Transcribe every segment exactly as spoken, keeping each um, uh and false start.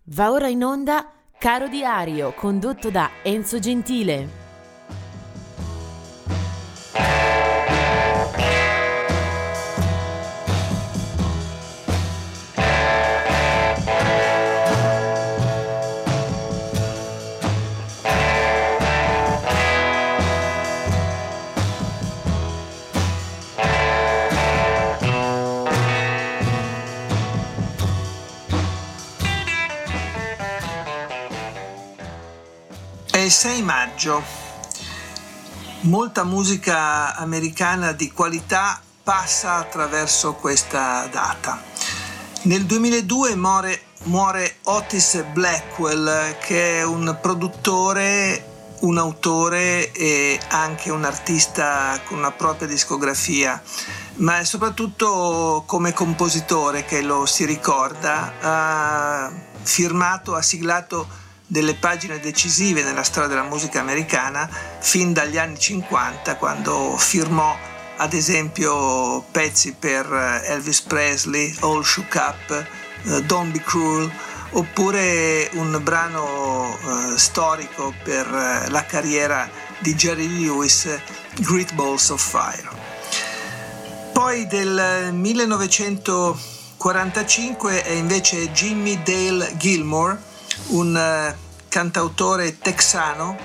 Va ora in onda Caro Diario, condotto da Enzo Gentile. È il sei maggio, molta musica americana di qualità passa attraverso questa data. Nel duemiladue muore, muore Otis Blackwell, che è un produttore, un autore e anche un artista con una propria discografia, ma è soprattutto come compositore che lo si ricorda. Ha firmato, ha siglato delle pagine decisive nella storia della musica americana fin dagli anni cinquanta, quando firmò ad esempio pezzi per Elvis Presley, All Shook Up, uh, Don't Be Cruel, oppure un brano uh, storico per uh, la carriera di Jerry Lewis, Great Balls of Fire. Poi del millenovecentoquarantacinque è invece Jimmie Dale Gilmore, un uh, cantautore texano,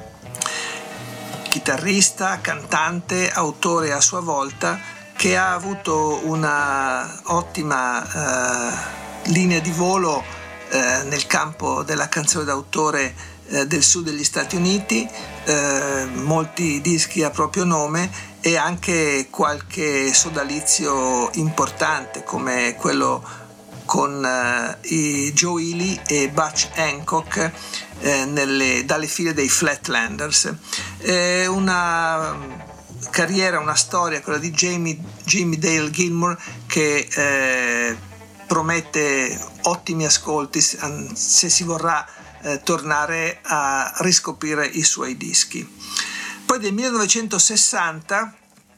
chitarrista, cantante, autore a sua volta, che ha avuto una ottima uh, linea di volo uh, nel campo della canzone d'autore uh, del sud degli Stati Uniti, uh, molti dischi a proprio nome e anche qualche sodalizio importante come quello con uh, i Joe Ely e Butch Hancock eh, nelle, dalle file dei Flatlanders. È una carriera, una storia, quella di Jamie, Jimmie Dale Gilmore, che eh, promette ottimi ascolti se si vorrà eh, tornare a riscoprire i suoi dischi. Poi del millenovecentosessanta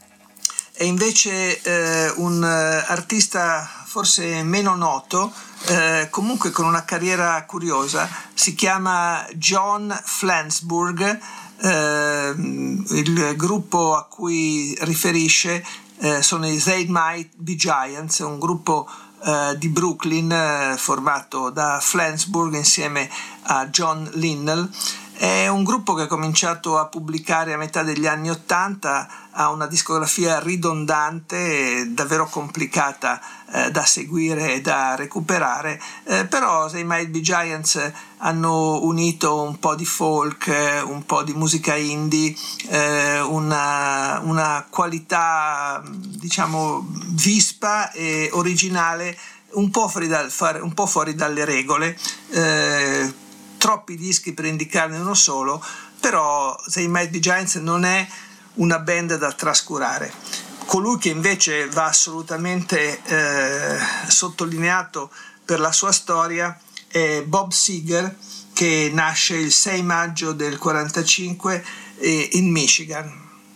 è invece eh, un artista forse meno noto, eh, comunque con una carriera curiosa. Si chiama John Flansburgh, eh, il gruppo a cui riferisce eh, sono i They Might Be Giants, un gruppo eh, di Brooklyn eh, formato da Flansburgh insieme a John Linnell. È un gruppo che ha cominciato a pubblicare a metà degli anni Ottanta, ha una discografia ridondante e davvero complicata eh, da seguire e da recuperare, eh, però They Might Be Giants hanno unito un po' di folk, eh, un po' di musica indie, eh, una, una qualità diciamo vispa e originale, un po' fuori, dal, un po' fuori dalle regole. Eh, troppi dischi per indicarne uno solo, però They Might Be Giants non è una band da trascurare. Colui che invece va assolutamente eh, sottolineato per la sua storia è Bob Seger, che nasce il sei maggio del quarantacinque eh, in Michigan.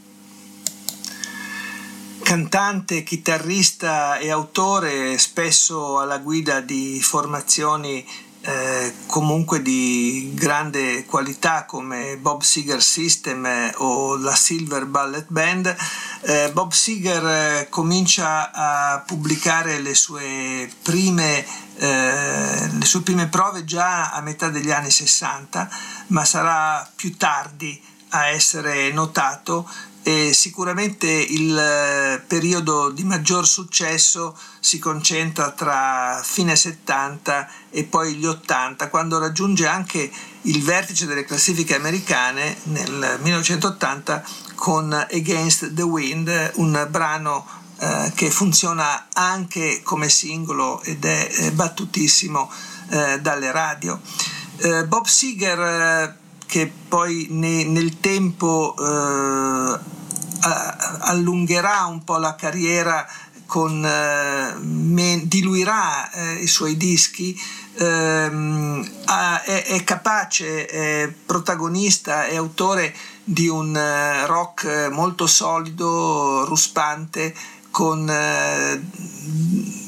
Cantante, chitarrista e autore, spesso alla guida di formazioni Eh, comunque di grande qualità come Bob Seger System eh, o la Silver Ballet Band. eh, Bob Seger eh, comincia a pubblicare le sue prime eh, le sue prime prove già a metà degli anni sessanta, ma sarà più tardi a essere notato, e sicuramente il periodo di maggior successo si concentra tra fine settanta e poi gli ottanta, quando raggiunge anche il vertice delle classifiche americane nel millenovecentottanta con Against the Wind, un brano eh, che funziona anche come singolo ed è eh, battutissimo eh, dalle radio. Eh, Bob Seger, eh, che poi ne, nel tempo eh, allungherà un po' la carriera, con, eh, me, diluirà eh, i suoi dischi, ehm, ha, è, è capace, è protagonista, è autore di un eh, rock molto solido, ruspante, con eh,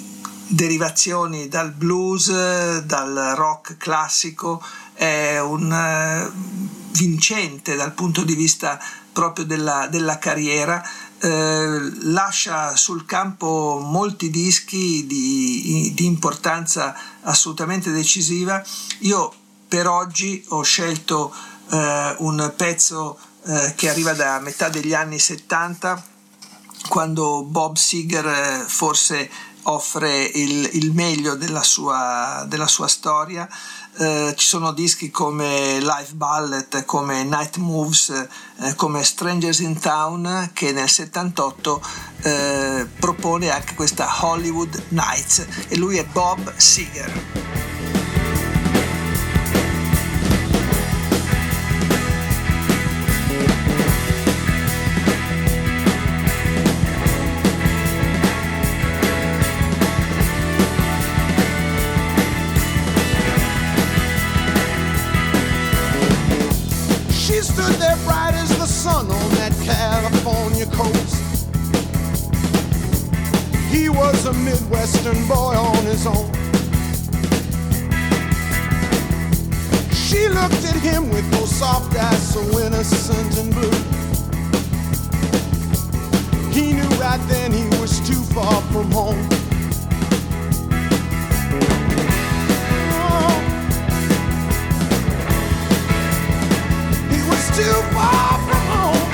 derivazioni dal blues, dal rock classico, è un uh, vincente dal punto di vista proprio della, della carriera, eh, lascia sul campo molti dischi di, di importanza assolutamente decisiva. Io per oggi ho scelto eh, un pezzo eh, che arriva da metà degli anni settanta, quando Bob Seger eh, forse offre il, il meglio della sua, della sua storia. Eh, ci sono dischi come Live Ballet, come Night Moves, eh, come Strangers in Town, che nel settantotto eh, propone anche questa Hollywood Nights, e lui è Bob Seger. She stood there bright as the sun on that California coast. He was a Midwestern boy on his own. She looked at him with those soft eyes so innocent and blue. He knew right then he was too far from home. Too far from home.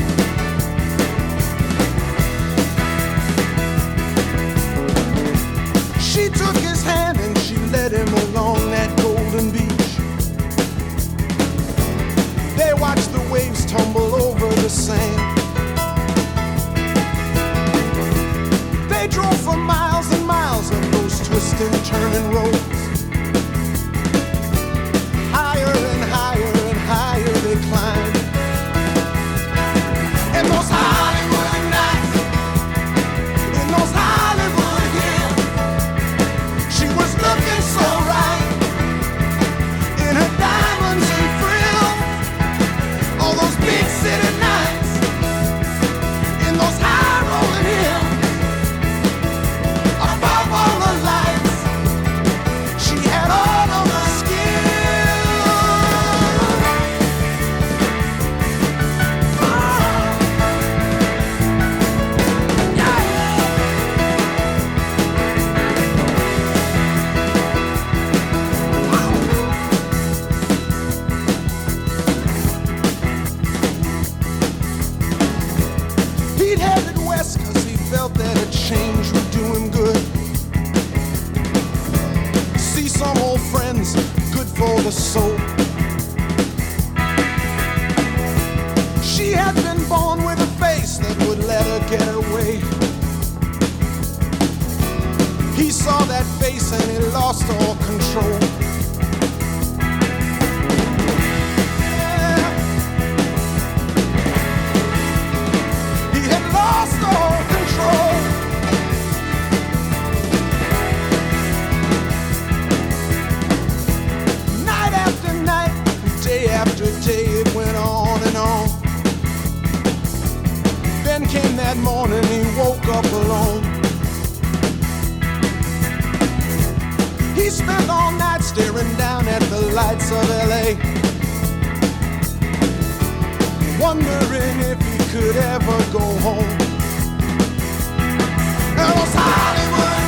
She took his hand and she led him along that golden beach. They watched the waves tumble over the sand. They drove for miles and miles up those twisting, turning roads. Higher and higher and higher they climbed. In those Hollywood nights, in those Hollywood hills, she was looking so right in her diamonds and frills. All those big city nights, in those high rolling hills, above all the lights, she had all of the skills. Felt that a change would do him good. See some old friends, good for the soul. She had been born with a face that would let her get away. He saw that face and he lost all control. Yeah. He had lost all control. Night after night, day after day, it went on and on. Then came that morning, he woke up alone. He spent all night staring down at the lights of L A, wondering if he could ever go home. It was Hollywood.